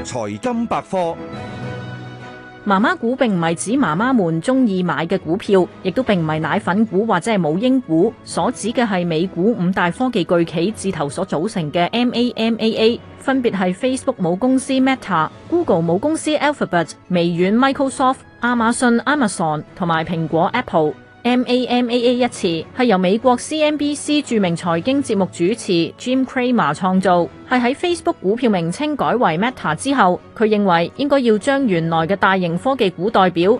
財金百科。 媽媽股並唔係指媽媽們中意買嘅股票，亦都並唔係奶粉股或者係母嬰股，所指嘅係美股5大科技巨企字頭所組成嘅 MAMAA， 分別係 Facebook 母公司 Meta、Google 母公司 Alphabet、微軟 Microsoft、亞馬遜 Amazon 同埋蘋果 Apple。MAMAA 一詞係由美國 CNBC 著名財經節目主持 Jim Cramer 創造，係喺 Facebook 股票名稱改為 Meta 之後，佢認為應該要將原來嘅大型科技股代表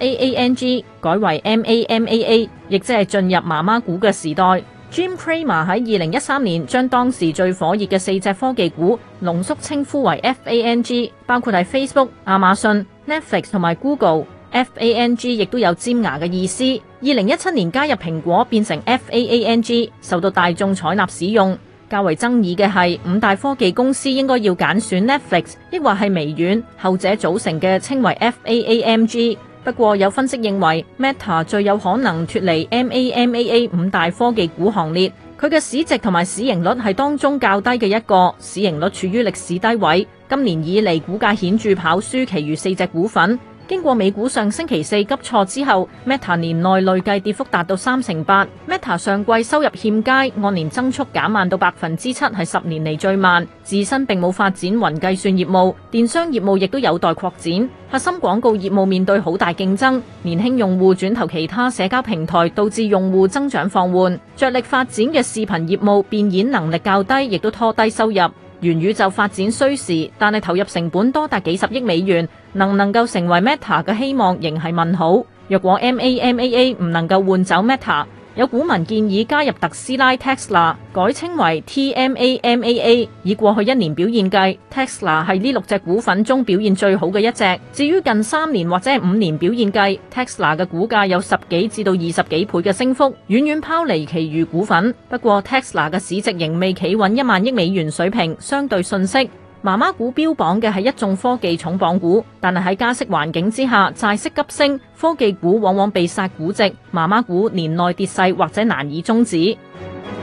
FAANG 改為 MAMAA， 亦即係進入媽媽股嘅時代。Jim Cramer 喺2013年將當時最火熱嘅4隻科技股濃縮稱呼為 FANG， 包括係 Facebook、亞馬遜、Netflix 同埋 Google。FANG 亦都有尖牙嘅意思。2017年加入蘋果變成 FAANG， 受到大眾採納使用。較為爭議嘅係5大科技公司應該要揀選 Netflix， 抑或係微軟，後者組成嘅稱為 FAAMG。不過有分析認為 Meta 最有可能脫離 MAMAA 5大科技股行列，佢嘅市值同埋市盈率係當中較低嘅一個，市盈率處於歷史低位，今年以嚟股價顯著跑輸其餘4隻股份。經過美股上星期4急挫之後 ，Meta 年內累計跌幅達到38%。Meta 上季收入欠佳，按年增速減慢到7%，係10年嚟最慢。自身並冇發展雲計算業務，電商業務亦都有待擴展。核心廣告業務面對好大競爭，年輕用戶轉投其他社交平台，導致用戶增長放緩。着力發展嘅視頻業務變現能力較低，亦都拖低收入。元宇宙發展需時，但係投入成本多達幾十億美元，能夠成為 Meta 嘅希望仍係問號。若果 MAMAA 唔能夠換走 Meta， 有股民建議加入特斯拉 Tesla， 改稱為 TMAMAA。以過去1年表現計 ，Tesla 係呢6隻股份中表現最好嘅一隻。至於近3年或者係5年表現計 ，Tesla 嘅股價有10幾至到20幾倍嘅升幅，遠遠拋離其餘股份。不過 Tesla 嘅市值仍未企穩1萬億美元水平，相對遜色。媽媽股標榜嘅係一眾科技重磅股，但係喺加息環境之下，債息急升，科技股往往被殺估值，媽媽股年內跌勢或者難以終止。